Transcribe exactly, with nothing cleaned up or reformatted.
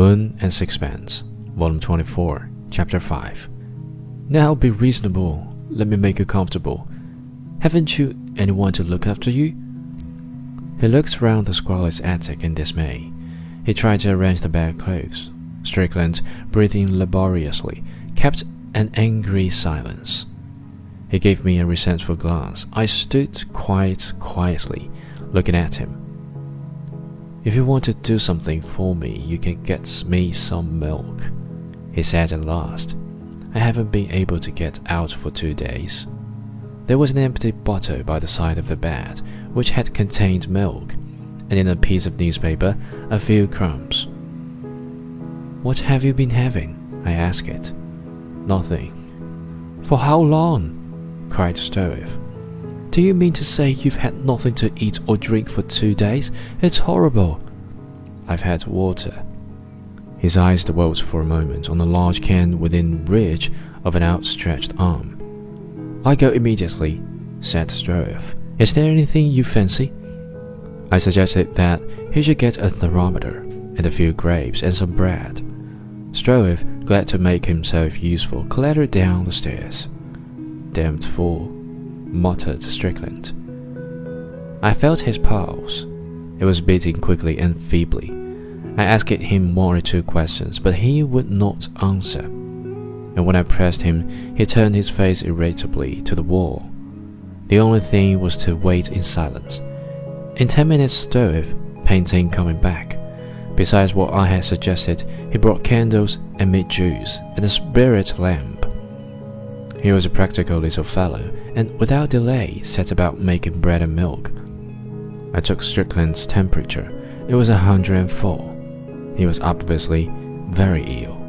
Moon and Sixpence, Volume twenty-four, Chapter five. Now be reasonable. Let me make you comfortable. Haven't you anyone to look after you? He looked round the squalid attic in dismay. He tried to arrange the bedclothes. Strickland, breathing laboriously, kept an angry silence. He gave me a resentful glance. I stood quite quietly, looking at him. "If you want to do something for me, you can get me some milk," he said at last. "I haven't been able to get out for two days." There was an empty bottle by the side of the bed, which had contained milk, and in a piece of newspaper, a few crumbs. "What have you been having?" I asked it. "Nothing." "For how long?" cried Stroeve. "Do you mean to say you've had nothing to eat or drink for two days? It's horrible." "I've had water." His eyes dwelt for a moment on a large can within reach of an outstretched arm. "I go immediately," said Stroeve. "Is there anything you fancy?" I suggested that he should get a thermometer, and a few grapes, and some bread. Stroeve, glad to make himself useful, clattered down the stairs. "Damned fool," muttered Strickland. I felt his pulse. It was beating quickly and feebly. I asked him one or two questions, but he would not answer. And when I pressed him, he turned his face irritably to the wall. The only thing was to wait in silence. In ten minutes, Stroeve, painting, coming back. Besides what I had suggested, he brought candles and meat juice and a spirit lamp. He was a practical little fellow, and without delay set about making bread and milk. I took Strickland's temperature. It was a hundred and four. He was obviously very ill.